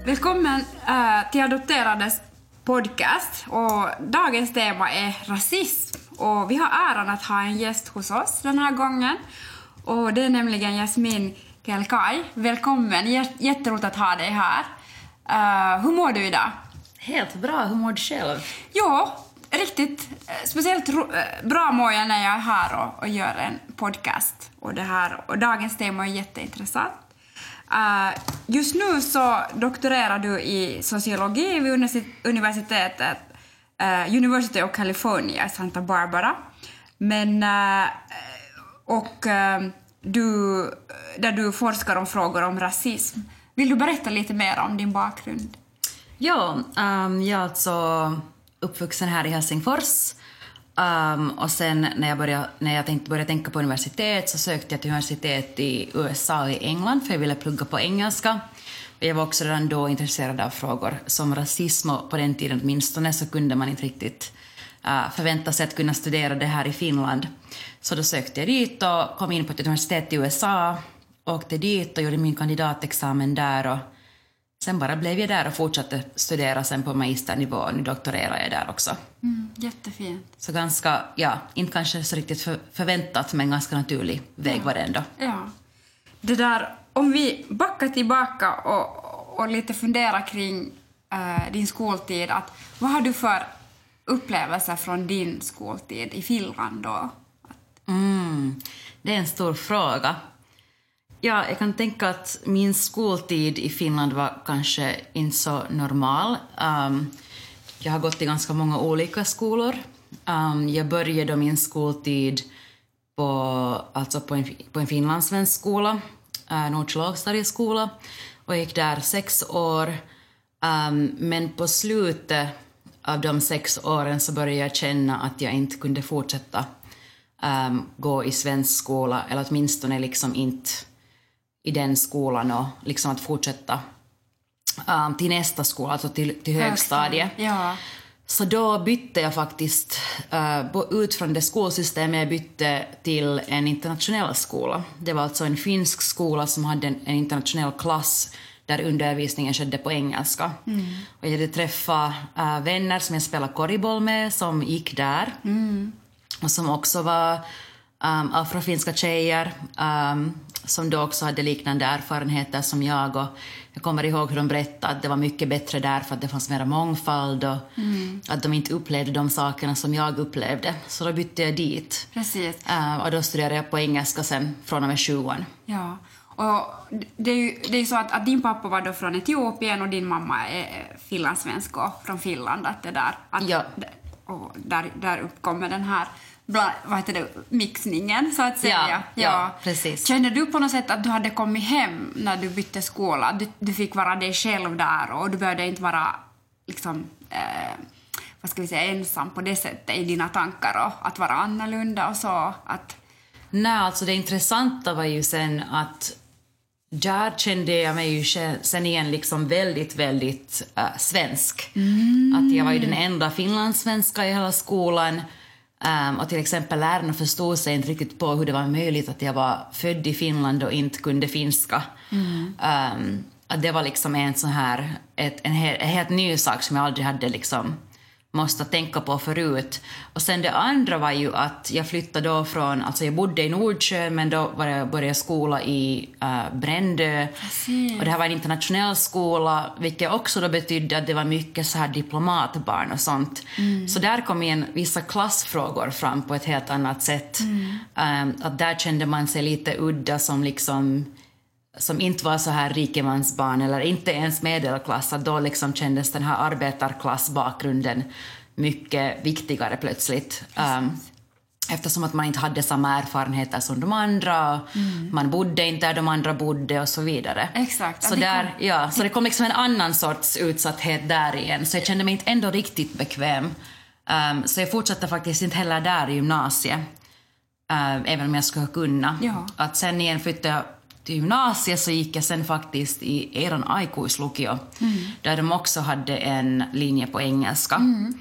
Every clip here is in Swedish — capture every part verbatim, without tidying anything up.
Välkommen äh, till Adopterades podcast. Och dagens tema är rasism. Och vi har äran att ha en gäst hos oss den här gången. Och det är nämligen Jasmin Kelkay. Välkommen, J- jätteroligt att ha dig här. Uh, hur mår du idag? Helt bra, hur mår du själv? Jo, riktigt speciellt ro- bra mår jag när jag är här och, och gör en podcast. Och, det här, och dagens tema är jätteintressant. Uh, just nu så doktorerar du i sociologi vid universitetet uh, University of California i Santa Barbara. Men uh, och uh, du där du forskar om frågor om rasism. Vill du berätta lite mer om din bakgrund? Ja, um, jag är alltså uppvuxen här i Helsingfors. Um, och sen när jag, började, när jag tänkte, började tänka på universitet så sökte jag till universitet i U S A och i England för jag ville plugga på engelska. Och jag var också redan då intresserad av frågor som rasism och på den tiden åtminstone så kunde man inte riktigt uh, förvänta sig att kunna studera det här i Finland. Så då sökte jag dit och kom in på ett universitet i U S A, åkte dit och gjorde min kandidatexamen där och sen bara blev jag där och fortsatte studera sen på magisternivå. Nu doktorerar jag där också. Mm, jättefint. Så ganska, ja, inte kanske så riktigt för, förväntat men ganska naturlig väg ja. var det ändå. Ja. Det där, om vi backar tillbaka och, och lite funderar kring äh, din skoltid. Att, vad har du för upplevelser från din skoltid i Finland då? Mm, det är en stor fråga. Ja, jag kan tänka att min skoltid i Finland var kanske inte så normal. Um, jag har gått i ganska många olika skolor. Um, jag började min skoltid på, alltså på, en, på en finlandssvensk skola, uh, Nordsjö lågstadieskola, och gick där sex år. Um, men på slutet av de sex åren så började jag känna att jag inte kunde fortsätta um, gå i svensk skola, eller åtminstone liksom inte i den skolan och liksom att fortsätta um, till nästa skola, alltså till, till högstadiet. Ja. Så då bytte jag faktiskt uh, ut från det skolsystemet, jag bytte till en internationell skola. Det var alltså en finsk skola som hade en, en internationell klass där undervisningen skedde på engelska. Mm. Och jag hade träffat uh, vänner som jag spelade korriboll med som gick där. Mm. Och som också var um, afrofinska tjejer um, som då också hade liknande erfarenheter som jag. Och jag kommer ihåg hur de berättade att det var mycket bättre där för att det fanns mer mångfald och mm. att de inte upplevde de sakerna som jag upplevde. Så då bytte jag dit. Precis. Uh, och då studerade jag på engelska sen från och med tjugoan. Ja, och det är ju det är så att, att din pappa var då från Etiopien och din mamma är finlandssvensk och från Finland. Att det där, att, ja. Och där, där uppkommer den här bla, vad heter det, mixningen så att säga. Ja, ja. ja, precis. Kände du på något sätt att du hade kommit hem när du bytte skola? Du, du fick vara dig själv där och du behövde inte vara liksom, eh, vad ska vi säga, ensam på det sättet i dina tankar och att vara annorlunda och så. Att... Nej, alltså det intressanta var ju sen att där kände jag mig ju sen igen liksom väldigt, väldigt äh, svensk. Mm. Att jag var ju den enda finlandssvenska i hela skolan. Um, och till exempel lärarna förstod sig inte riktigt på hur det var möjligt att jag var född i Finland och inte kunde finska. Mm. Um, att det var liksom en sån här, ett, en, helt, en helt ny sak som jag aldrig hade liksom måste tänka på förut. Och sen det andra var ju att jag flyttade då från, alltså jag bodde i Nordsjö men då var jag började skola i uh, Brändö. Och det här var en internationell skola vilket också då betydde att det var mycket så här diplomatbarn och sånt. Mm. Så där kom in vissa klassfrågor fram på ett helt annat sätt. Mm. Um, att där kände man sig lite udda som liksom som inte var så här rikemansbarn eller inte ens medelklass, att då liksom kändes den här arbetarklassbakgrunden mycket viktigare plötsligt. Um, eftersom att man inte hade samma erfarenheter som de andra, mm. man bodde inte där de andra bodde och så vidare. Exakt. Så, där, ja, så det kom liksom en annan sorts utsatthet där igen, så jag kände mig inte ändå riktigt bekväm. Um, så jag fortsatte faktiskt inte heller där i gymnasiet, um, även om jag skulle kunna. Ja. Att sen igen flyttade jag till gymnasiet så gick jag sen faktiskt i eran aikuislukio, mm. där de också hade en linje på engelska. Mm.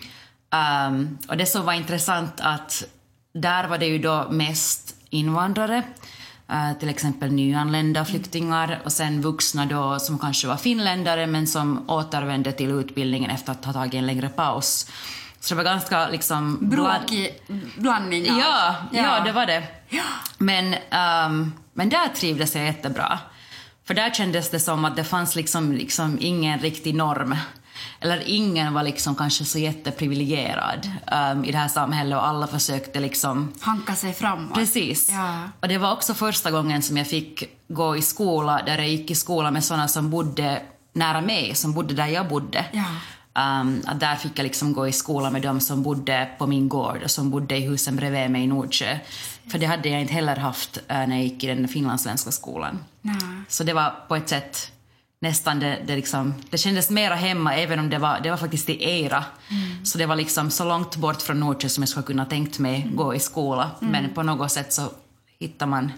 Um, och det som var intressant att där var det ju då mest invandrare. Uh, till exempel nyanlända flyktingar mm. och sen vuxna då som kanske var finländare men som återvände till utbildningen efter att ha tagit en längre paus. Så det var ganska liksom... Bråkig blandning. Ja, ja, ja, det var det. Ja. Men, um, men där trivdes jag jättebra. För där kändes det som att det fanns liksom, liksom ingen riktig norm. Eller ingen var liksom kanske så jätteprivilegierad um, i det här samhället och alla försökte liksom... hanka sig framåt. Precis. Ja. Och det var också första gången som jag fick gå i skola där jag gick i skola med sådana som bodde nära mig, som bodde där jag bodde. Ja. Um, att där fick jag liksom gå i skola med dem som bodde på min gård och som bodde i husen bredvid mig i Nordsjö. För det hade jag inte heller haft uh, när jag gick i den finlandssvenska skolan. Nej. Så det var på ett sätt nästan det, det liksom, det kändes mera hemma även om det var, det var faktiskt i Eira. Mm. Så det var liksom så långt bort från Nordsjö som jag skulle kunna tänkt mig mm. gå i skola. Mm. Men på något sätt så hittar man,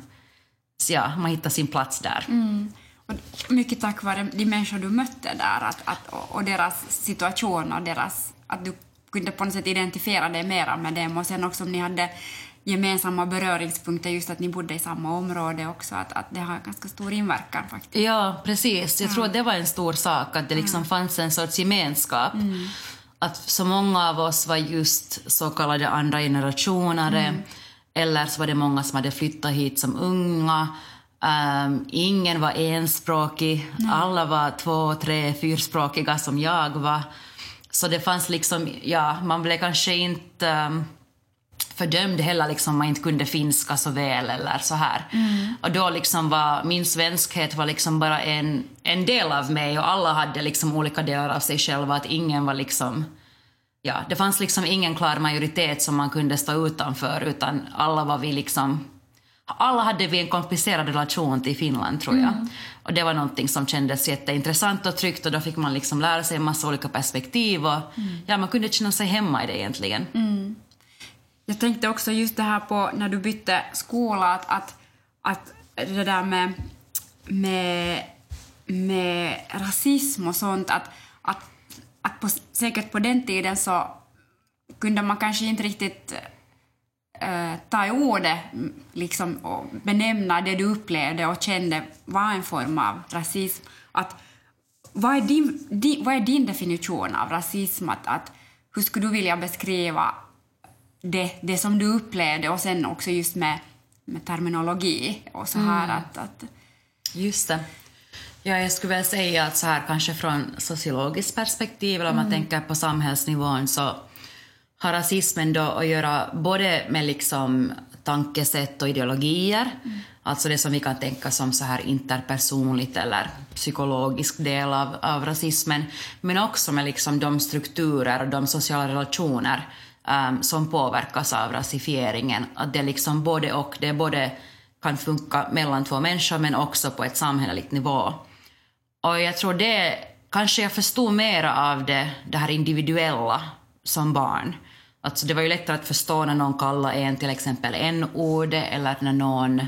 ja, man hittar sin plats där. Mm. Och mycket tack vare de människor du mötte där att, att, och deras situation och deras, att du kunde på något sätt identifiera dig mera med dem och sen också om ni hade gemensamma beröringspunkter just att ni bodde i samma område också att, att det har ganska stor inverkan faktiskt. Ja, precis. Jag ja. tror att det var en stor sak att det liksom ja. fanns en sorts gemenskap. Mm. Att så många av oss var just så kallade andra generationer mm. eller så var det många som hade flyttat hit som unga. Um, ingen var enspråkig, Nej. alla var två, tre, fyrspråkiga som jag var. Så det fanns liksom, ja, man blev kanske inte um, fördömd heller liksom man inte kunde finska så väl eller så här. Mm. Och då liksom var min svenskhet var liksom bara en, en del av mig och alla hade liksom olika delar av sig själva, att ingen var liksom, ja, det fanns liksom ingen klar majoritet som man kunde stå utanför utan alla var vi liksom. Alla hade vi en komplicerad relation till Finland tror jag. Mm. Och det var någonting som kändes jätteintressant och tryggt och då fick man liksom lära sig en massa olika perspektiv och mm. ja, man kunde känna sig hemma i det egentligen. Mm. Jag tänkte också just det här på när du bytte skola att, att, att det där med, med, med rasism och sånt att, att, att på, säkert på den tiden så kunde man kanske inte riktigt Uh, ta i ordet liksom, och benämna det du upplevde och kände var en form av rasism. Att, vad, är din, di, vad är din definition av rasism? Att, att, hur skulle du vilja beskriva det, det som du upplevde och sen också just med, med terminologi och så här mm. att, att... Just det. Ja, jag skulle väl säga att så här kanske från sociologiskt perspektiv eller om man mm. tänker på samhällsnivån så har rasismen då att göra både med liksom tankesätt och ideologier, mm. alltså det som vi kan tänka som så här interpersonligt eller psykologisk del av, av rasismen, men också med liksom de strukturer och de sociala relationer um, som påverkas av rasifieringen. Att det liksom både och, det både kan funka mellan två människor men också på ett samhälleligt nivå. Och jag tror det, kanske jag förstod mer av det, det här individuella som barn. Alltså det var ju lättare att förstå när någon kallar en till exempel en-ord eller när någon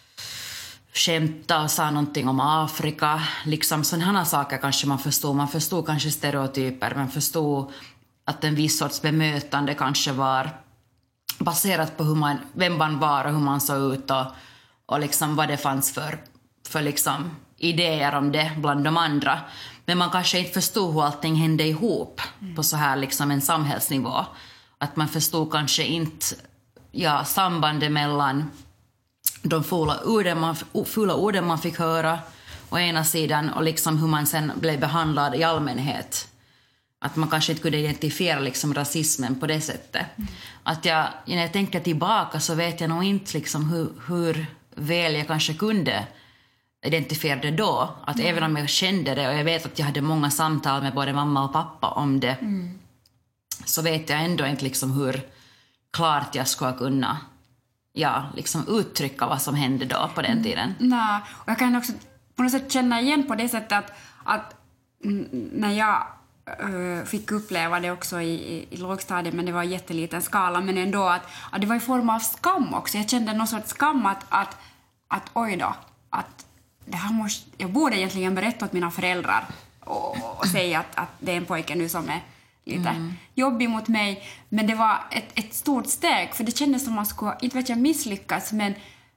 skämtade och sa någonting om Afrika. Liksom sådana saker kanske man förstod. Man förstod kanske stereotyper. Man förstod att en viss sorts bemötande kanske var baserat på hur man, vem man var och hur man såg ut och, och liksom vad det fanns för, för liksom idéer om det bland de andra. Men man kanske inte förstod hur allting hände ihop mm. på så här liksom en samhällsnivå. Att man förstod kanske inte ja, sambandet mellan de fula orden, man, fula orden man fick höra å ena sidan och liksom hur man sen blev behandlad i allmänhet. Att man kanske inte kunde identifiera liksom rasismen på det sättet. Mm. Att jag, när jag tänker tillbaka så vet jag nog inte liksom hur, hur väl jag kanske kunde identifiera det då. Att mm. även om jag kände det och jag vet att jag hade många samtal med både mamma och pappa om det mm. så vet jag ändå inte liksom hur klart jag ska kunna ja, liksom uttrycka vad som hände då på den tiden. Mm. Nej, och jag kan också på något sätt känna igen på det sättet att, att när jag uh, fick uppleva det också i, i, i lågstadiet, men det var i jätteliten skala, men ändå att, att det var i form av skam också. Jag kände någon sorts skam att, att, att oj då, att det här måste, jag borde egentligen berätta åt mina föräldrar och, och säga att, att det är en pojke nu som är lite mm. jobbig mot mig. Men det var ett, ett stort steg, för det kändes som man skulle, inte vet jag, misslyckas, men,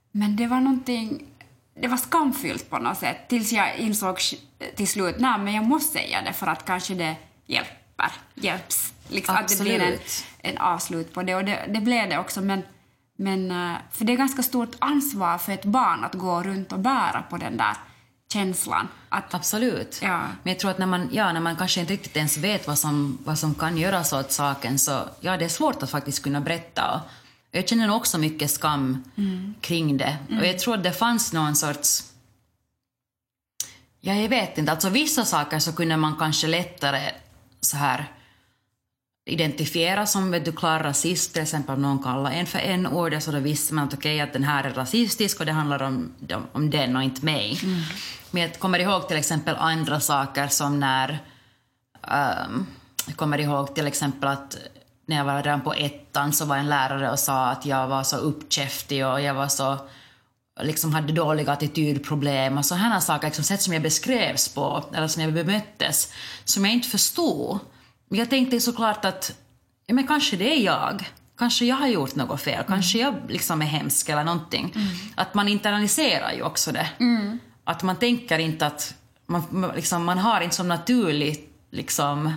men det var någonting, det var skamfyllt på något sätt tills jag insåg till slut, nej men jag måste säga det för att kanske det hjälper, hjälps. Liksom, att det blir en, en avslut på det, och det, det blev det också, men, men för det är ganska stort ansvar för ett barn att gå runt och bära på den där känslan. Att, Absolut. Ja. Men jag tror att när man, ja, när man kanske inte riktigt ens vet vad som, vad som kan göras åt saken, så ja, det är svårt att faktiskt kunna berätta. Och jag känner nog också mycket skam mm. kring det. Mm. Och jag tror att det fanns någon sorts... Ja, jag vet inte. Alltså vissa saker så kunde man kanske lättare så här identifiera som, vet du, klar rasist. Till exempel om någon kallar en för en ord, så då visste man att okej, okay, att den här är rasistisk och det handlar om, om den och inte mig. Mm. Men jag kommer ihåg till exempel andra saker som när... Um, jag kommer ihåg till exempel att när jag var redan på ettan så var en lärare och sa att jag var så uppkäftig och jag var så... liksom hade dåliga attitydproblem och så här saker, liksom, sätt som jag beskrevs på eller som jag bemöttes, som jag inte förstod. Men jag tänkte såklart att ja, men kanske det är jag. Kanske jag har gjort något fel. Kanske jag liksom är hemsk eller någonting. Mm. Att man internaliserar ju också det. Mm. Att man tänker inte att man, liksom, man har inte som naturligt liksom...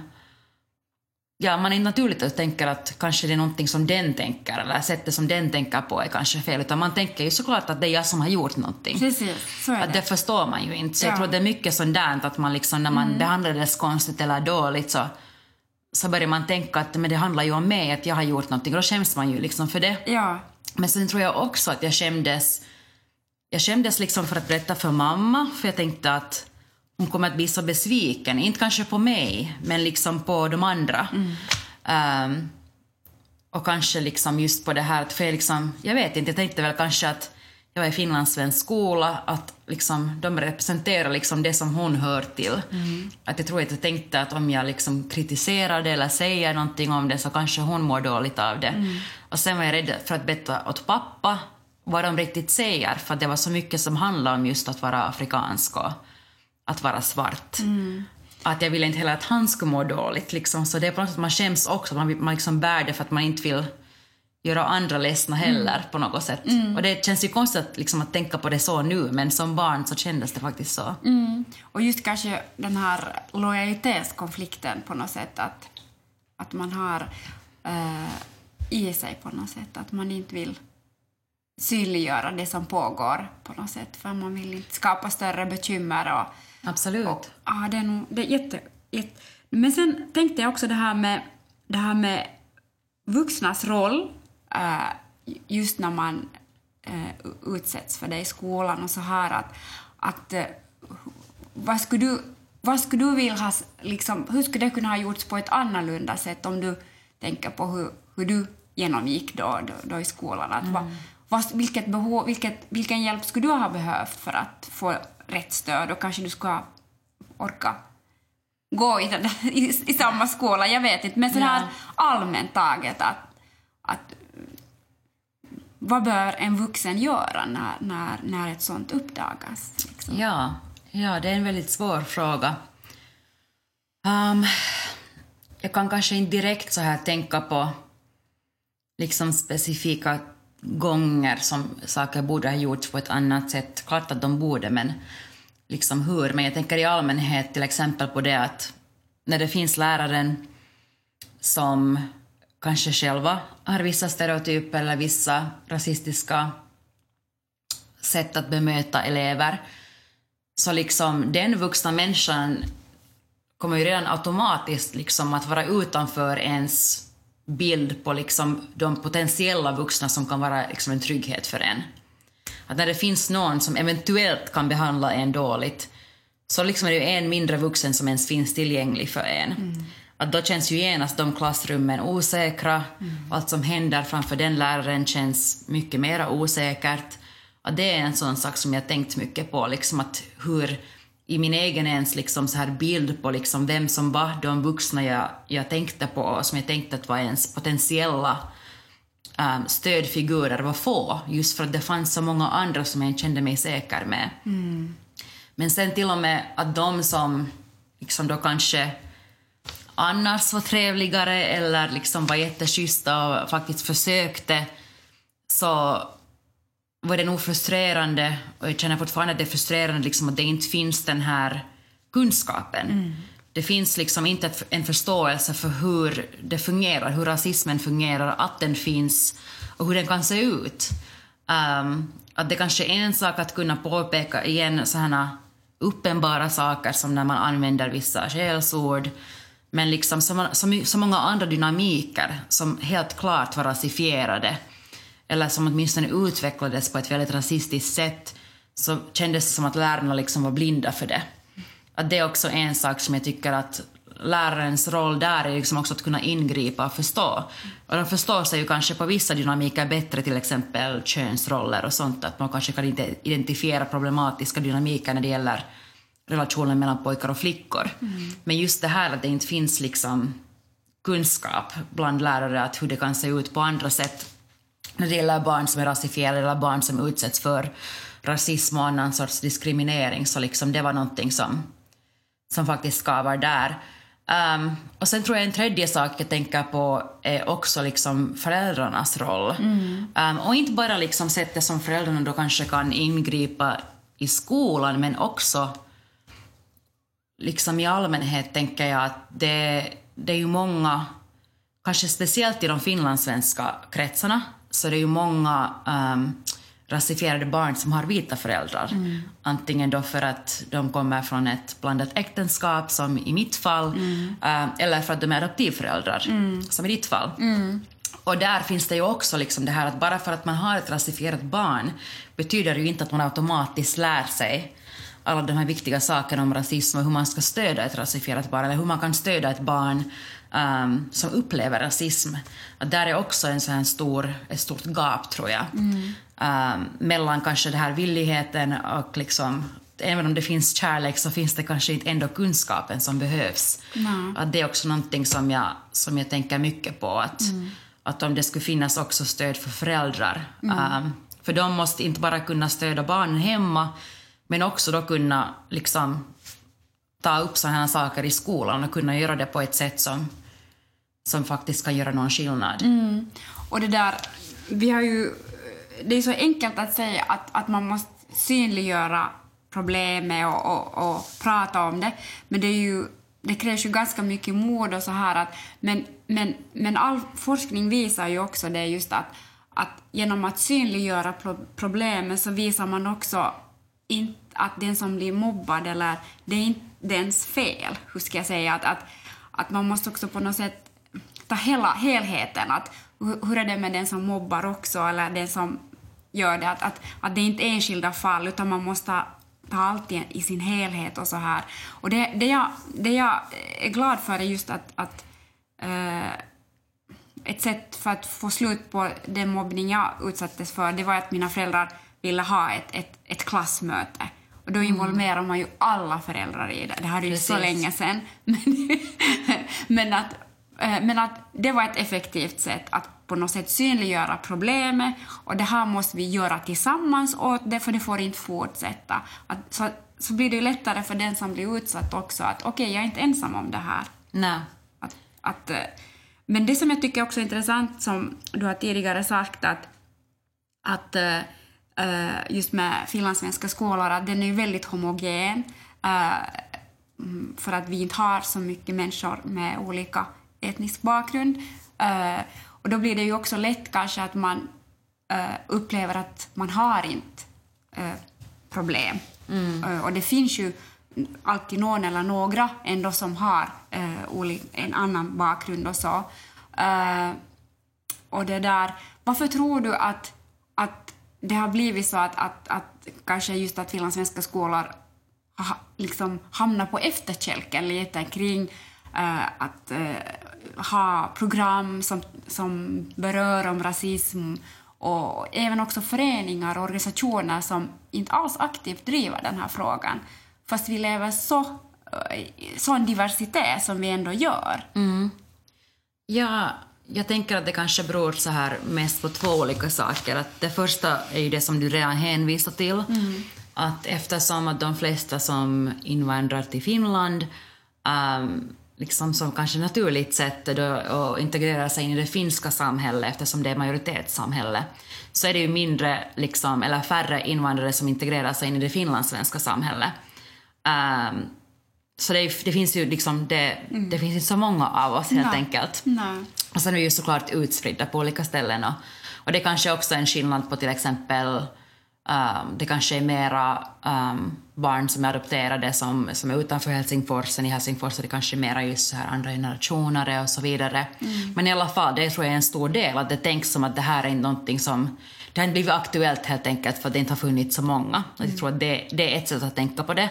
Ja, man är naturligt att tänka att kanske det är någonting som den tänker eller sättet som den tänker på är kanske fel, utan man tänker ju såklart att det är jag som har gjort någonting. Precis, så är det. Att det förstår man ju inte. Så ja. jag tror det är mycket sånt där att man liksom, när man mm. behandlar det konstigt eller dåligt, så, så börjar man tänka att men det handlar ju om mig, att jag har gjort någonting, och då skäms man ju liksom för det. Ja. Men sen tror jag också att jag skämdes jag skämdes liksom för att berätta för mamma, för jag tänkte att hon kommer att bli så besviken, inte kanske på mig men liksom på de andra. Mm. Um, och kanske liksom just på det här, för jag, liksom, jag vet inte, jag tänkte väl kanske att jag var i finlandssvensk skola, att liksom, de representerar liksom det som hon hör till. Mm. Att jag tror att jag tänkte att om jag liksom kritiserar det eller säger någonting om det, så kanske hon mår dåligt av det. Mm. Och sen var jag rädd för att berätta åt pappa vad de riktigt säger, för att det var så mycket som handlar om just att vara afrikansk och att vara svart. Mm. Att jag ville inte heller att han skulle må dåligt. Liksom. Så det är på något sätt att man skäms också. Man, man liksom bär det för att man inte vill göra andra ledsna heller mm. på något sätt. Mm. Och det känns ju konstigt liksom, att tänka på det så nu. Men som barn så kändes det faktiskt så. Mm. Och just kanske den här lojalitetskonflikten på något sätt. Att, att man har äh, i sig på något sätt. Att man inte vill synliggöra det som pågår på något sätt. För man vill inte skapa större bekymmer och... Absolut. Och, ja, det är nog det är jätte, jätte... Men sen tänkte jag också det här med, det här med vuxnas roll äh, just när man äh, utsätts för det i skolan och så här att, att äh, vad skulle du vad skulle du vilja ha liksom, hur skulle det kunna ha gjorts på ett annorlunda sätt om du tänker på hur, hur du genomgick då, då, då i skolan att mm. vad, vad, vilket behov, vilket, vilken hjälp skulle du ha behövt för att få rätt stöd, och kanske du ska orka gå i, den, i, i samma skola, jag vet inte, men så här ja. allmänt taget att, att vad bör en vuxen göra när, när, när ett sånt uppdagas? Liksom? Ja, ja, det är en väldigt svår fråga. Um, jag kan kanske inte direkt så här tänka på liksom specifika gånger som saker borde ha gjorts på ett annat sätt. Klart att de borde, men liksom hur. Men jag tänker i allmänhet till exempel på det att när det finns läraren som kanske själva har vissa stereotyper eller vissa rasistiska sätt att bemöta elever, så liksom den vuxna människan kommer ju redan automatiskt liksom att vara utanför ens bild på liksom de potentiella vuxna som kan vara liksom en trygghet för en. Att när det finns någon som eventuellt kan behandla en dåligt, så liksom är det ju en mindre vuxen som ens finns tillgänglig för en. Mm. Att då känns ju genast de klassrummen osäkra. Mm. Allt som händer framför den läraren känns mycket mer osäkert. Att det är en sån sak som jag tänkt mycket på. Liksom att hur i min egen ens liksom så här bild på liksom vem som var de vuxna jag, jag tänkte på och som jag tänkte att var ens potentiella um, stödfigurer var få. Just för att det fanns så många andra som jag kände mig säker med. Mm. Men sen till och med att de som liksom då kanske annars var trevligare eller liksom var jätteschyssta och faktiskt försökte, så var det nog frustrerande, och jag känner fortfarande att det är frustrerande liksom, att det inte finns den här kunskapen. Mm. Det finns liksom inte en förståelse för hur det fungerar, hur rasismen fungerar, att den finns och hur den kan se ut. Um, att det kanske är en sak att kunna påpeka igen sådana uppenbara saker som när man använder vissa skällsord, men liksom så, så, så många andra dynamiker som helt klart var rasifierade eller som åtminstone utvecklades på ett väldigt rasistiskt sätt, så kändes det som att lärarna liksom var blinda för det. Att det är också en sak som jag tycker att lärarens roll där är liksom också att kunna ingripa och förstå. Och de förstår sig ju kanske på vissa dynamiker bättre, till exempel könsroller och sånt, att man kanske kan identifiera problematiska dynamiker när det gäller relationen mellan pojkar och flickor. Mm. Men just det här att det inte finns liksom kunskap bland lärare att hur det kan se ut på andra sätt när det gäller barn som är rasifierade eller barn som utsätts för rasism och annan sorts diskriminering, så liksom det var någonting som, som faktiskt skavar där. Um, och sen tror jag en tredje sak jag tänker på är också liksom föräldrarnas roll. Mm. Um, och inte bara liksom sättet som föräldrarna då kanske kan ingripa i skolan, men också liksom i allmänhet tänker jag att det, det är ju många, kanske speciellt i de finlandssvenska kretsarna, så det är ju många um, rasifierade barn som har vita föräldrar. Mm. Antingen då för att de kommer från ett blandat äktenskap, som i mitt fall, mm. uh, eller för att de är adoptivföräldrar, mm. som i ditt fall. Mm. Och där finns det ju också liksom det här att bara för att man har ett rasifierat barn betyder det ju inte att man automatiskt lär sig alla de här viktiga sakerna om rasism och hur man ska stödja ett rasifierat barn, eller hur man kan stödja ett barn um, som upplever rasism. Att där är också en sån här stor, ett stort gap, tror jag. Mm. Um, mellan kanske det här villigheten och liksom, även om det finns kärlek så finns det kanske inte ändå kunskapen som behövs. Mm. Att det är också någonting som jag, som jag tänker mycket på. Att, mm. att om det skulle finnas också stöd för föräldrar. Mm. Um, för de måste inte bara kunna stödja barnen hemma, men också då kunna liksom ta upp sådana här saker i skolan och kunna göra det på ett sätt som, som faktiskt kan göra någon skillnad. Mm. Och det där, vi har ju, det är så enkelt att säga att, att man måste synliggöra problemet och, och, och prata om det, men det är ju, det krävs ju ganska mycket mod och så här att, men, men, men all forskning visar ju också det just att, att genom att synliggöra pro- problemen så visar man också inte att den som blir mobbad, eller det är inte dens fel, hur ska jag säga, att, att, att man måste också på något sätt ta hela helheten, att hur är det med den som mobbar också, eller den som gör det, att, att, att det är inte enskilda fall, utan man måste ta allt i, i sin helhet och så här. Och det, det, jag, det jag är glad för är just att, att äh, ett sätt för att få slut på den mobbning jag utsattes för, det var att mina föräldrar ville ha ett, ett, ett klassmöte. Och då involverar man ju alla föräldrar i det. Det hade ju så länge sedan. Men, men, att, men att det var ett effektivt sätt att på något sätt synliggöra problemet. Och det här måste vi göra tillsammans åt det, för det får inte fortsätta. Att, så, så blir det lättare för den som blir utsatt också att okej, okay, jag är inte ensam om det här. Nej. Att, att, men det som jag tycker också är intressant, som du har tidigare sagt, att, att Uh, just med finlandssvenska skolor, att den är väldigt homogen, uh, för att vi inte har så mycket människor med olika etnisk bakgrund. Uh, och då blir det ju också lätt kanske att man uh, upplever att man har inte uh, problem. Mm. Uh, och det finns ju alltid någon eller några ändå som har uh, en annan bakgrund och så. Uh, och det där, varför tror du att, att det har blivit så att, att, att kanske just att finlandssvenska skolor ha, liksom hamnar på efterkälken lite kring uh, att uh, ha program som, som berör om rasism, och även också föreningar och organisationer som inte alls aktivt driver den här frågan, fast vi lever så uh, sån diversitet som vi ändå gör. Mm. Ja, jag tänker att det kanske beror så här mest på två olika saker. Att det första är ju det som du redan hänvisar till. Mm. Att eftersom att de flesta som invandrar till Finland um, liksom som kanske naturligt sätt då, att integrera sig in i det finska samhället eftersom det är majoritetssamhälle, så är det ju mindre liksom, eller färre invandrare som integrerar sig in i det finlandssvenska samhället. Um, så det, det finns ju liksom det, mm. det finns inte så många av oss helt Nej. enkelt. Nej. Och sen är vi ju såklart utspridda på olika ställen och, och det kanske också är en skillnad på till exempel Um, det kanske är mera um, barn som är adopterade som, som är utanför Helsingfors. I Helsingfors är det kanske mera just så här andra generationer och så vidare. Mm. Men i alla fall, det tror jag är en stor del att det tänks som att det här är någonting som det har blivit aktuellt helt enkelt för att det inte har funnits så många. Mm. Jag tror att det, det är ett sätt att tänka på det.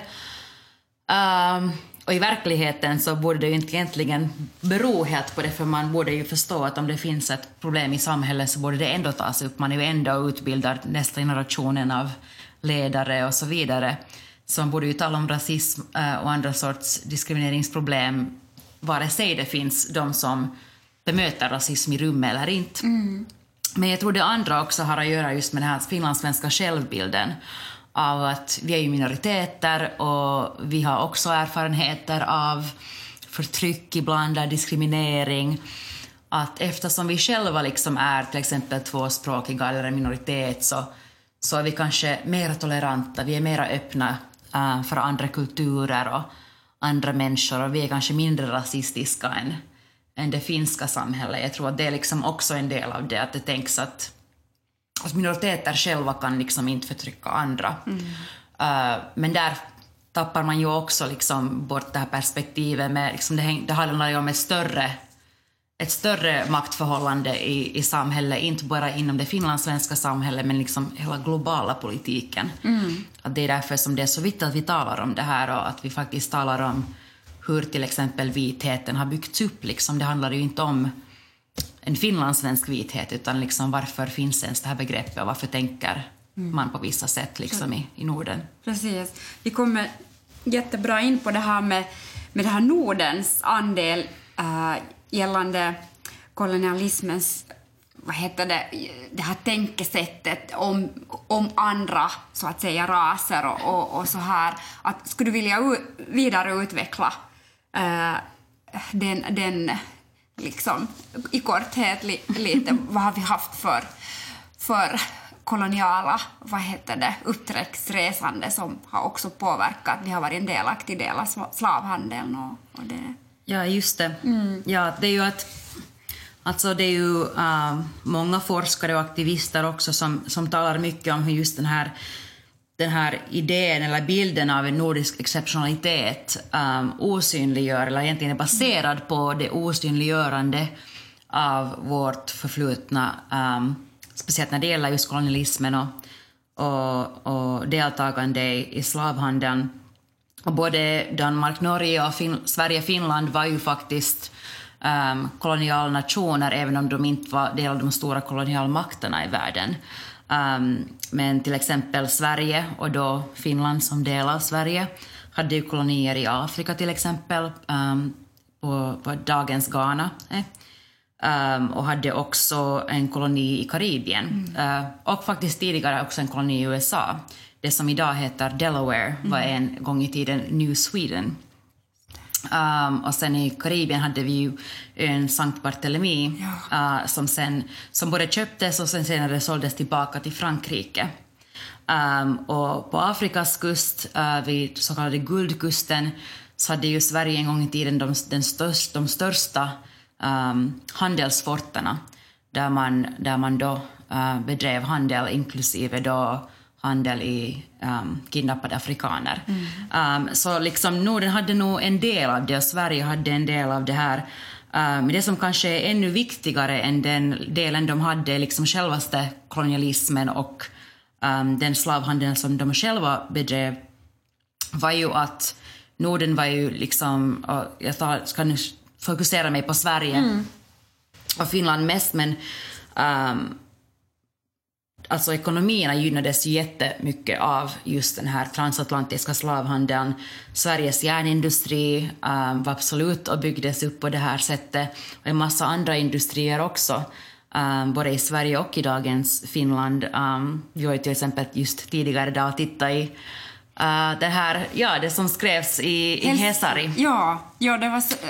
Um, och i verkligheten så borde det ju inte egentligen bero helt på det, för man borde ju förstå att om det finns ett problem i samhället så borde det ändå tas upp. Man är ju ändå utbildad nästa generationen av ledare och så vidare. Så man borde ju tala om rasism och andra sorts diskrimineringsproblem vare sig det finns de som bemöter rasism i rummet eller inte. Mm. Men jag tror det andra också har att göra just med den här finlandssvenska självbilden av att vi är ju minoriteter och vi har också erfarenheter av förtryck ibland, där diskriminering. Att eftersom vi själva liksom är till exempel tvåspråkiga eller en minoritet så, så är vi kanske mer toleranta, vi är mer öppna uh, för andra kulturer och andra människor och vi är kanske mindre rasistiska än, än det finska samhället. Jag tror att det är liksom också en del av det, att det tänks att att minoriteter själva kan liksom inte förtrycka andra. Mm. Uh, men där tappar man ju också liksom bort det här perspektivet med liksom det, häng, det handlar ju om ett större, ett större maktförhållande i, i samhället, inte bara inom det finlandssvenska samhället men liksom hela globala politiken. Mm. Att det är därför som det är så viktigt att vi talar om det här och att vi faktiskt talar om hur till exempel vitheten har byggts upp. Liksom. Det handlar ju inte om en finlandssvensk vithet, utan liksom varför finns ens det här begreppet och varför tänker mm. man på vissa sätt liksom i, i Norden. Precis. Vi kommer jättebra in på det här med, med det här Nordens andel äh, gällande kolonialismens, vad heter det, det här tänkesättet om, om andra så att säga raser och, och, och så här. Att, skulle du vilja u- vidareutveckla äh, den, den liksom i korthet li, lite vad har vi haft för, för koloniala vad heter det, uppträcksresande som har också påverkat. Vi har varit en delaktig del av slavhandeln och, och det. Ja, just det. Mm. Ja, det är ju att alltså det är ju uh, många forskare och aktivister också som, som talar mycket om hur just den här den här idén eller bilden av en nordisk exceptionalitet um, osynliggör, eller egentligen är baserad på det osynliggörande av vårt förflutna, um, speciellt när det gäller just kolonialismen och, och, och deltagande i, i slavhandeln. Och både Danmark, Norge och fin- Sverige, Finland var ju faktiskt um, kolonialnationer, även om de inte var del av de stora kolonialmakterna i världen. Um, men till exempel Sverige och då Finland som del av Sverige hade ju kolonier i Afrika till exempel, um, på, på dagens Ghana eh? um, och hade också en koloni i Karibien mm. uh, och faktiskt tidigare också en koloni i U S A. Det som idag heter Delaware var mm. en gång i tiden New Sweden. Um, och sen i Karibien hade vi ju en Sankt Barthélemy ja. uh, som, sen, som både köptes och sen senare såldes tillbaka till Frankrike. Um, och på Afrikas kust, uh, vid så kallade Guldkusten, så hade ju Sverige en gång i tiden de, den största, de största um, handelsforterna där man, där man då uh, bedrev handel, inklusive då handel i um, kidnappade afrikaner. Mm. Um, så liksom Norden hade nog en del av det och Sverige hade en del av det här. Men um, det som kanske är ännu viktigare än den delen de hade, liksom självaste kolonialismen och um, den slavhandeln som de själva bedrev, var ju att Norden var ju liksom, och jag tar, ska nu fokusera mig på Sverige mm. och Finland mest, men um, alltså ekonomierna gynnades jättemycket av just den här transatlantiska slavhandeln. Sveriges järnindustri um, var absolut och byggdes upp på det här sättet. Och en massa andra industrier också, um, både i Sverige och i dagens Finland. Um, vi har ju till exempel just tidigare idag tittat i uh, det här, ja, det som skrevs i, i Hesari. Ja, ja, det var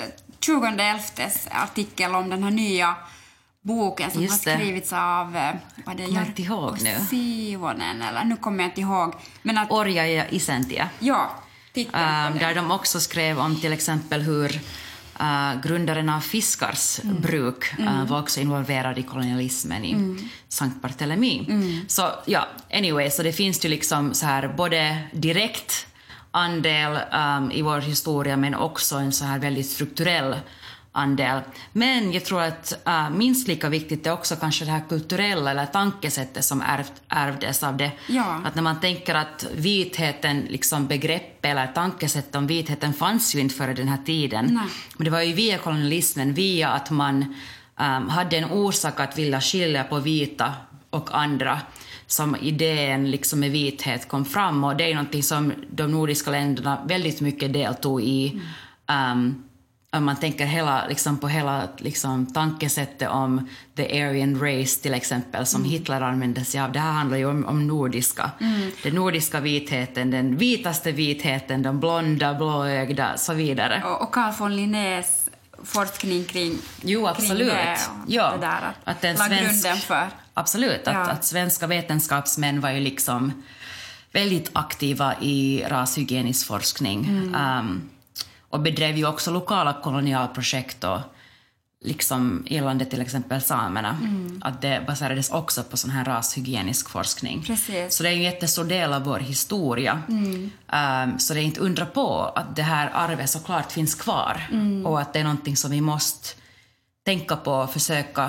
tjugonde elftes artikel om den här nya boken som Just har det. skrivits av eh, vad det Kommer jag inte ihåg nu. Sivonen, eller nu kommer jag inte ihåg. Men att, Orja ja Isäntiä. ja, titeln på Um, den. där de också skrev om till exempel hur uh, grundaren av Fiskars mm. bruk uh, mm. var också involverad i kolonialismen i mm. Sankt Barthélemy. Mm. Så ja, anyway, så det finns ju liksom så här både direkt andel um, i vår historia men också en så här väldigt strukturell andel. Men jag tror att uh, minst lika viktigt är också kanske det här kulturella eller tankesättet som ärvt, ärvdes av det. Ja. Att när man tänker att vitheten, liksom begrepp eller tankesätt om vitheten fanns ju inte före den här tiden. Nej. Men det var ju via kolonialismen, via att man um, hade en orsak att vilja skilja på vita och andra som idén liksom med vithet kom fram. Och det är någonting som de nordiska länderna väldigt mycket deltog i. Mm. Um, om man tänker hela, liksom på hela liksom, tankesättet om the Aryan race till exempel som mm. Hitler använde sig av. Det här handlar ju om, om nordiska. Mm. Den nordiska vitheten, den vitaste vitheten, de blonda, blåögda och så vidare. Och, och Carl von Linnés forskning kring, jo, absolut. kring det och ja. det där att, att den la svensk, grunden för. Absolut, ja. att, att svenska vetenskapsmän var ju liksom väldigt aktiva i rashygienisk forskning. Mm. Um, och bedrev ju också lokala kolonialprojekt och liksom gällande till exempel samerna. Mm. Att det baserades också på sån här rashygienisk forskning. Precis. Så det är ju en jättestor del av vår historia. Mm. Um, så det är inte undra på att det här arvet såklart finns kvar. Mm. Och att det är någonting som vi måste tänka på och försöka,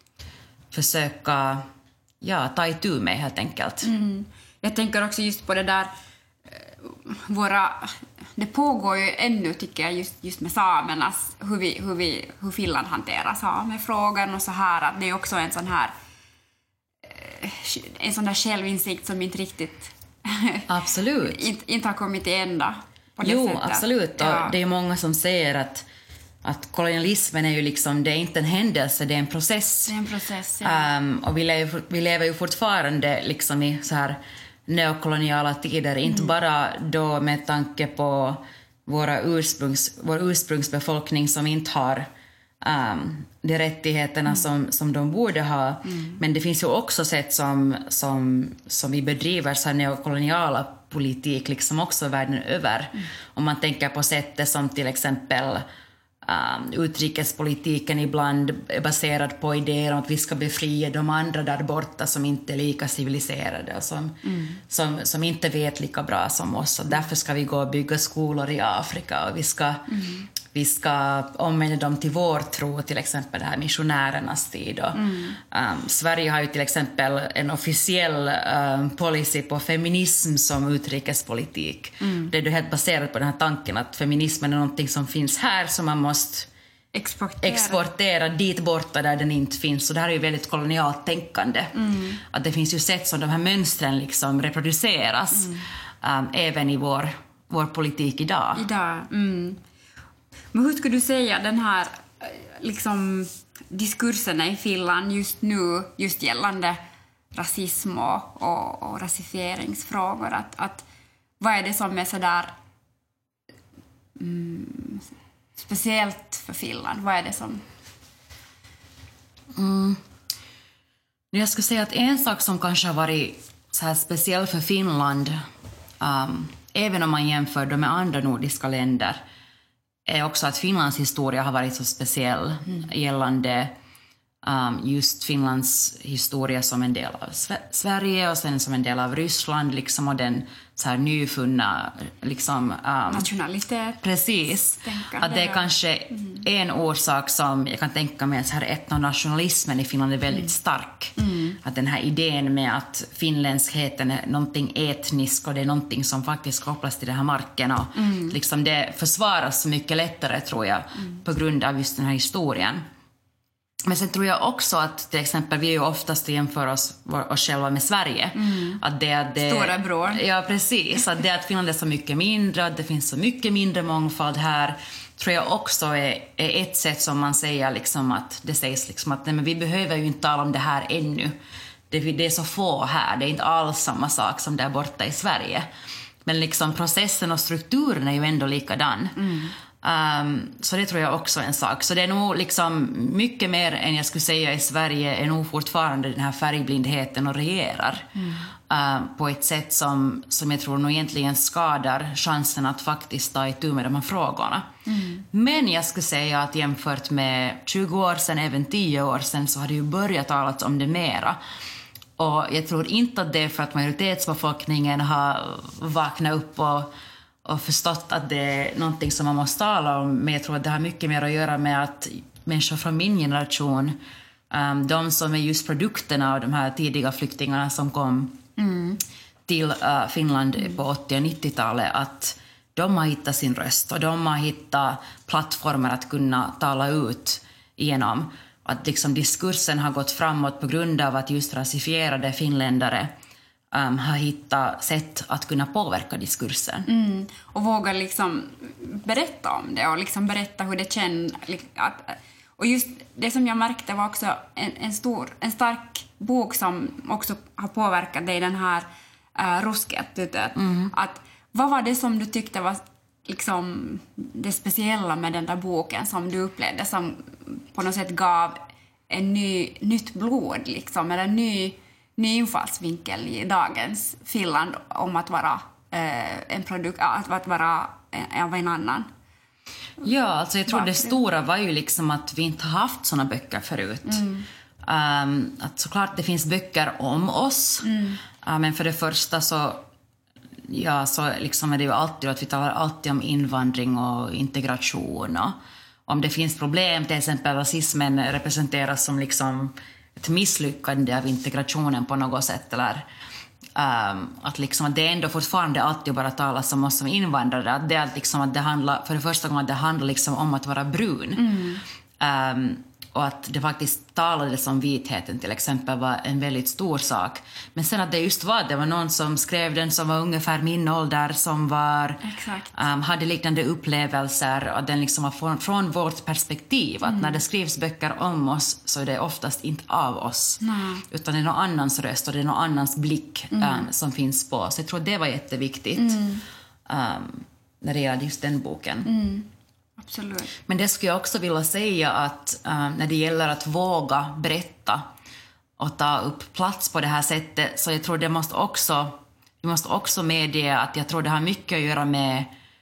försöka ja, ta itu med helt enkelt. Mm. Jag tänker också just på det där våra... Det pågår ju ännu, tycker jag, just, just med samernas, hur, vi, hur, vi, hur Finland hanterar samefrågan och så här, att det är också en sån här en sån där självinsikt som inte riktigt absolut. inte, inte har kommit till ända på det jo, sättet. absolut. Ja. Och det är många som säger att, att kolonialismen är ju liksom, det är inte en händelse, det är en process. Det är en process, ja. Um, och vi lever, vi lever ju fortfarande liksom i så här neokoloniala tider, mm. inte bara då med tanke på våra ursprungs, vår ursprungsbefolkning som inte har um, de rättigheterna mm. som, som de borde ha. Mm. Men det finns ju också sätt som, som, som vi bedriver så här neokoloniala politik liksom också världen över. Mm. Om man tänker på sättet som till exempel Um, utrikespolitiken ibland är baserad på idéer om att vi ska befria de andra där borta som inte är lika civiliserade och som, mm. som, som inte vet lika bra som oss. Och därför ska vi gå och bygga skolor i Afrika och vi ska, mm. vi ska omvända dem till vår tro, till exempel det här missionärernas tid. Och, mm. um, Sverige har ju till exempel en officiell um, policy på feminism som utrikespolitik. Mm. Det är ju helt baserat på den här tanken att feminismen är någonting som finns här som man måste exportera. exportera dit borta där den inte finns. Så det här är ju väldigt kolonialt tänkande. Mm. Att det finns ju sätt som de här mönstren liksom reproduceras mm. um, även i vår, vår politik idag. Idag, mm. Men hur skulle du säga den här liksom, diskurserna i Finland just nu, just gällande rasism och, och, och rasifieringsfrågor, att, att vad är det som är så där mm, speciellt för Finland? Vad är det som... Mm. Jag skulle säga att en sak som kanske har varit så här speciell för Finland, um, även om man jämför det med andra nordiska länder, är också att Finlands historia har varit så speciell mm. gällande um, just Finlands historia som en del av Sverige och sen som en del av Ryssland liksom, och den så här nyfunna liksom, um, nationalitet. Precis. Att det är kanske mm. en orsak som jag kan tänka mig, så här etnonationalismen i Finland är väldigt mm. stark. Mm. Att den här idén med att finländskheten är någonting etniskt och det är någonting som faktiskt kopplas till den här marken och mm. liksom det försvaras så mycket lättare, tror jag, mm. på grund av just den här historien. Men sen tror jag också att till exempel vi är ju oftast jämför oss, oss själva med Sverige. Mm. Att det, att det, Stora bror. Ja, precis. Att det att Finland är så mycket mindre, att det finns så mycket mindre mångfald här, tror jag också är, är ett sätt som man säger liksom att det sägs liksom att nej, men vi behöver ju inte tala om det här ännu. Det, det är så få här, det är inte alls samma sak som där borta i Sverige. Men liksom processen och strukturen är ju ändå likadan. Mm. Um, så det tror jag också är en sak. Så det är nog liksom mycket mer än jag skulle säga i Sverige är nog fortfarande den här färgblindheten och regerar. Mm. Uh, på ett sätt som, som jag tror nog egentligen skadar chansen att faktiskt ta itu med de här frågorna. Mm. Men jag skulle säga att jämfört med tjugo år sedan, även tio år sedan, så har det ju börjat talas om det mera. Och jag tror inte att det är för att majoritetsbefolkningen har vaknat upp och, och förstått att det är någonting som man måste tala om. Men jag tror att det har mycket mer att göra med att människor från min generation, um, de som är just produkterna av de här tidiga flyktingarna som kom mm. till uh, Finland mm. på åttio- och nittiotalet, att de har hittat sin röst och de har hittat plattformar att kunna tala ut igenom. Att liksom diskursen har gått framåt på grund av att just rasifierade finländare um, har hittat sätt att kunna påverka diskursen. Mm. Och våga liksom berätta om det och liksom berätta hur det känns. Och just det som jag märkte var också en, en, stor, en stark bok som också har påverkat dig, den här uh, Ruskeatutet. Mm. Att vad var det som du tyckte var liksom det speciella med den där boken som du upplevde som på något sätt gav en ny, nytt blod liksom, eller en ny, ny infallsvinkel i dagens Finland om att vara eh, en produkt, att, att vara en, av en annan? Ja, alltså jag tror Varför? Det stora var ju liksom att vi inte har haft såna böcker förut. Mm. Um, att såklart det finns böcker om oss, mm. uh, men för det första så ja, så liksom är det ju alltid att vi talar alltid om invandring och integration, och om det finns problem, till exempel rasismen representeras som liksom ett misslyckande av integrationen på något sätt, eller um, att liksom att det ändå fortfarande alltid bara talas om oss som invandrare, att det är liksom att det handlar, för det första gången att det handlar liksom om att vara brun. Mm. Um, och att det faktiskt talades om vitheten till exempel var en väldigt stor sak. Men sen att det just var, det var någon som skrev den som var ungefär min ålder, som var, um, hade liknande upplevelser, och den liksom var från, från vårt perspektiv. Att mm. när det skrivs böcker om oss så är det oftast inte av oss. Mm. Utan det är någon annans röst och det är någon annans blick um, mm. som finns på. Så jag tror det var jätteviktigt mm. um, när det gäller just den boken. Mm. Absolut. Men det skulle jag också vilja säga att uh, när det gäller att våga berätta och ta upp plats på det här sättet, så jag tror det måste också, vi måste också medge att jag tror det har mycket att göra med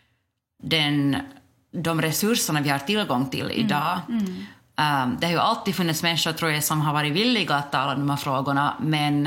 den, de resurserna vi har tillgång till idag. Mm. Mm. Um, det har ju alltid funnits människor, tror jag, som har varit villiga att tala om de här frågorna, men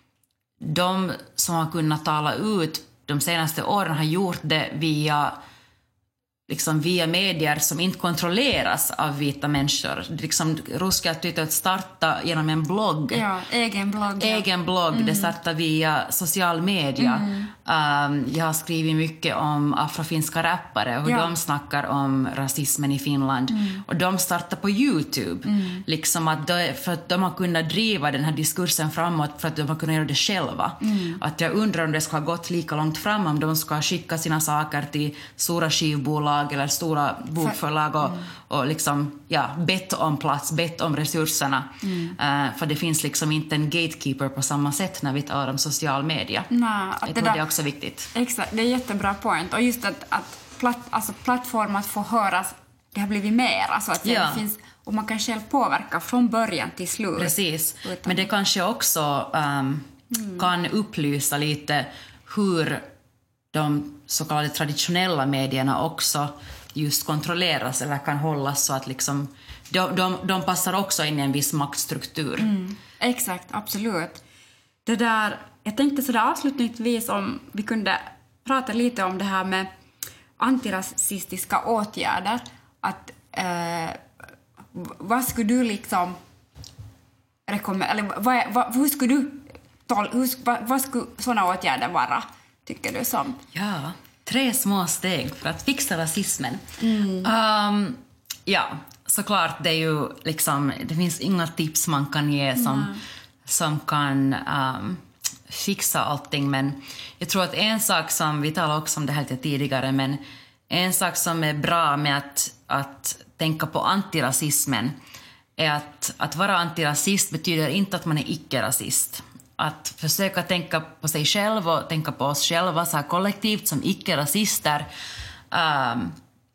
de som har kunnat tala ut de senaste åren har gjort det via liksom via medier som inte kontrolleras av vita människor. Liksom Ruskeatutet starta genom en blogg. Ja, egen blogg. Egen ja. blogg, mm. det startar via social media. Mm. Um, jag har skrivit mycket om afrofinska rappare och hur ja. de snackar om rasismen i Finland. Mm. Och de startar på YouTube. Mm. Liksom att de, för att de har kunnat driva den här diskursen framåt för att de har kunnat göra det själva. Mm. Att jag undrar om det ska ha gått lika långt fram om de ska skicka sina saker till stora skivbolag eller stora bokförlag och, mm. och liksom, ja, bett om plats, bett om resurserna. Mm. Uh, för det finns liksom inte en gatekeeper på samma sätt när vi talar om social media. Nej, jag tror det, där, det är också viktigt. Exakt, det är jättebra point. Och just att, att platt, alltså plattformar att få höras, det har blivit mer. Alltså att ja. det finns, och man kan själv påverka från början till slut. Precis, utan. Men det kanske också um, mm. kan upplysa lite hur de så kallade traditionella medierna också just kontrolleras eller kan hållas, så att liksom, de, de, de passar också in i en viss maktstruktur. Mm, exakt, absolut. Det där, jag tänkte sådär avslutningsvis om vi kunde prata lite om det här med antirasistiska åtgärder. Att, eh, vad skulle du liksom rekommendera, eller vad, vad, hur skulle du hur, vad, vad skulle sådana åtgärder vara, tycker du som? Ja, tre små steg för att fixa rasismen. Mm. Um, ja, såklart det är ju liksom, det finns inga tips man kan ge som, mm. som kan um, fixa allting, men jag tror att en sak som, vi talade också om det här lite tidigare, men en sak som är bra med att, att tänka på antirasismen är att, att vara antirasist betyder inte att man är icke-rasist. att försöka tänka på sig själv och tänka på oss själva så här kollektivt som icke-rasister. Um,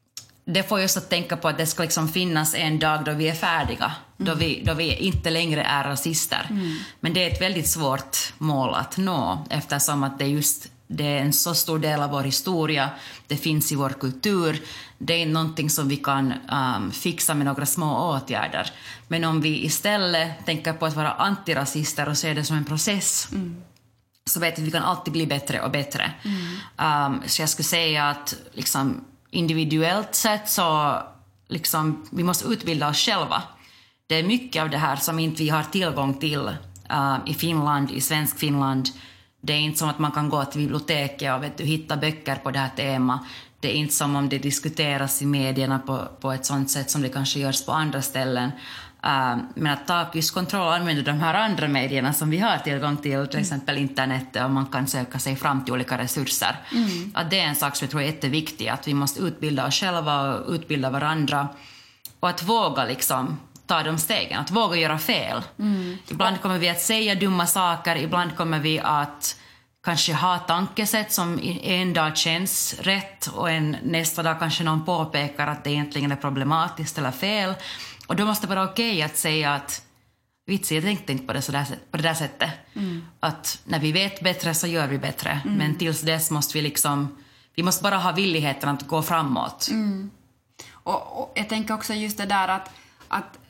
det får just att tänka på att det ska liksom finnas en dag då vi är färdiga, mm. då, vi, då vi inte längre är rasister. Mm. Men det är ett väldigt svårt mål att nå, eftersom att det just det är en så stor del av vår historia, det finns i vår kultur, det är någonting som vi kan um, fixa med några små åtgärder. Men om vi istället tänker på att vara antirasister och ser det som en process, mm. så vet vi att vi kan alltid bli bättre och bättre. Mm. Um, så jag skulle säga att liksom, individuellt sett så liksom, vi måste utbilda oss själva. Det är mycket av det här som inte vi har tillgång till uh, i Finland, i svensk Finland. Det är inte som att man kan gå till biblioteket och vet du, hitta böcker på det här temat. Det är inte som om det diskuteras i medierna på, på ett sånt sätt som det kanske görs på andra ställen. Uh, men att ta just kontroll och använda de här andra medierna som vi har tillgång till, till exempel internet, och man kan söka sig fram till olika resurser. Mm. Att det är en sak som jag tror är jätteviktig, att vi måste utbilda oss själva och utbilda varandra. Och att våga liksom ta de stegen, att våga göra fel. Mm. Ibland kommer vi att säga dumma saker, ibland kommer vi att kanske ha tankesätt som en dag känns rätt och en nästa dag kanske någon påpekar att det egentligen är problematiskt eller fel. Och då måste det vara okej att säga att vitsi, jag tänkte inte på det, så där, på det där sättet. Mm. Att när vi vet bättre så gör vi bättre. Mm. Men tills dess måste vi liksom, vi måste bara ha villigheten att gå framåt. Mm. Och, och jag tänker också just det där att, att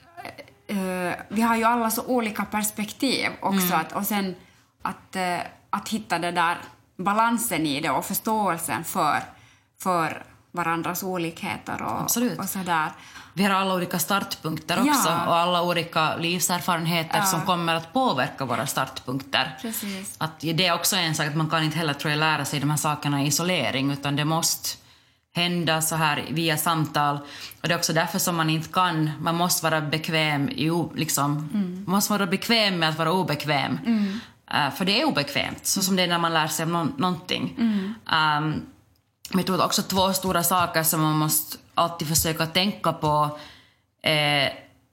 uh, vi har ju alla så olika perspektiv också. Mm. Att, och sen att, uh, att hitta det där balansen i det och förståelsen för, för varandras olikheter och, och sådär. Vi har alla olika startpunkter också, ja. Och alla olika livserfarenheter, ja. Som kommer att påverka våra startpunkter. Precis. Att det är också en sak att man kan inte heller tror jag, lära sig de här sakerna i isolering, utan det måste hända så här via samtal. Och det är också därför som man inte kan, man måste vara bekväm i, liksom, mm. man måste vara bekväm med att vara obekväm. Mm. Uh, för det är obekvämt, så som det är när man lär sig om no- någonting. Mm. Um, men jag tror också två stora saker som man måste alltid försöka tänka på, eh,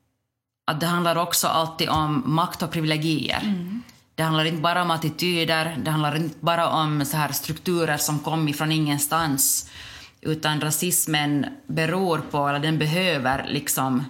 att det handlar också alltid om makt och privilegier. Mm. Det handlar inte bara om attityder, det handlar inte bara om så här strukturer som kommer från ingenstans, utan rasismen beror på, eller den behöver liksom,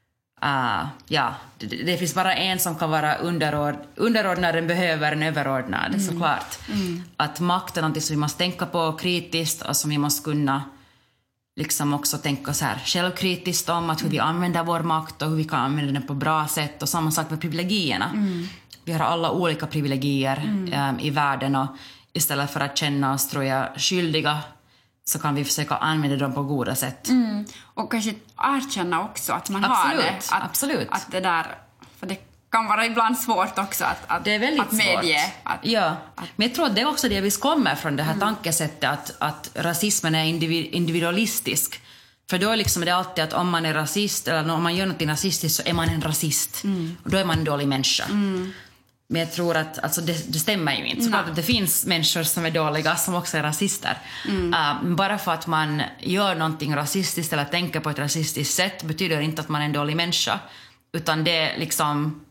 uh, ja, det, det finns bara en som kan vara underord, underordnad, den behöver en överordnad, mm. såklart. Mm. Att makt är något som vi måste tänka på kritiskt och som vi måste kunna liksom också tänka så här självkritiskt om att hur vi använder vår makt och hur vi kan använda den på bra sätt, och samma sak med privilegierna. Mm. Vi har alla olika privilegier mm. um, i världen, och istället för att känna oss tror jag skyldiga så kan vi försöka använda dem på goda sätt. Mm. Och kanske erkänna också att man absolut, har det. Att, absolut. Att det där, för det kan vara ibland svårt också att, att, det är väldigt att medge. Svårt. Att, ja. att, Men jag tror att det är också det vi kommer från, det här mm. tankesättet att, att rasismen är individualistisk. För då är liksom det alltid att om man är rasist eller om man gör något rasistiskt så är man en rasist. Mm. Och då är man en dålig människa. Mm. Men jag tror att alltså det, det stämmer ju inte. Så att det finns människor som är dåliga som också är rasister. Mm. Uh, bara för att man gör någonting rasistiskt eller tänker på ett rasistiskt sätt betyder inte att man är en dålig människa. Utan det är liksom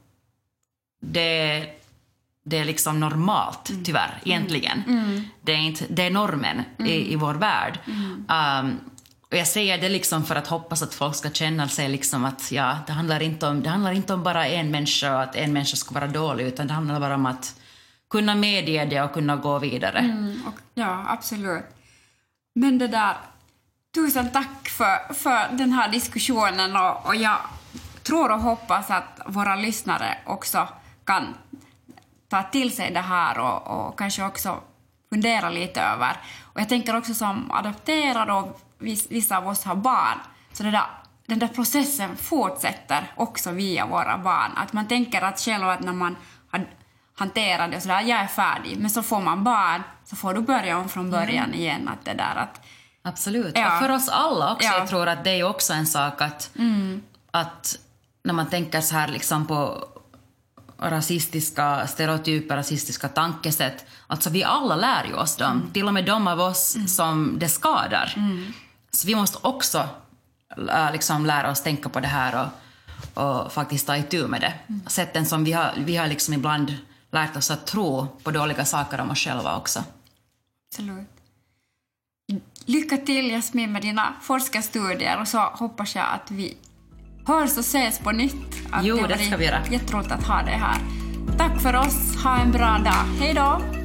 det, det är liksom normalt, mm. tyvärr, egentligen. Mm. Det, är inte, det är normen mm. i, i vår värld. Mm. Um, och jag säger det liksom för att hoppas att folk ska känna sig liksom att ja, det handlar inte om, det handlar inte om bara en människa och att en människa ska vara dålig, utan det handlar bara om att kunna medge det och kunna gå vidare. Mm, och, ja, absolut. Men det där, tusen tack för, för den här diskussionen, och, och jag tror och hoppas att våra lyssnare också kan ta till sig det här och, och kanske också fundera lite över. Och jag tänker också som adopterad och vissa av oss har barn, så det där, den där processen fortsätter också via våra barn. Att man tänker att själv att när man har hanterat det och sådär, jag är färdig, men så får man barn, så får du börja om från början mm. igen. Att det där att, absolut, ja. Och för oss alla också, ja. Jag tror att det är också en sak att, mm. att när man tänker så här liksom på rasistiska stereotyper, rasistiska tankesätt, alltså vi alla lär ju oss dem, mm. till och med de av oss mm. som det skadar. Mm. Så vi måste också äh, liksom lära oss tänka på det här och, och faktiskt ta itu med det. Mm. Sätten som vi har, vi har liksom ibland lärt oss att tro på dåliga saker om oss själva också. Absolut. Lycka till, Jasmin, med dina forskarstudier, och så hoppas jag att vi hörs och ses på nytt. Att jo, det ska vi göra. Jätteroligt att ha dig här. Tack för oss. Ha en bra dag. Hej då!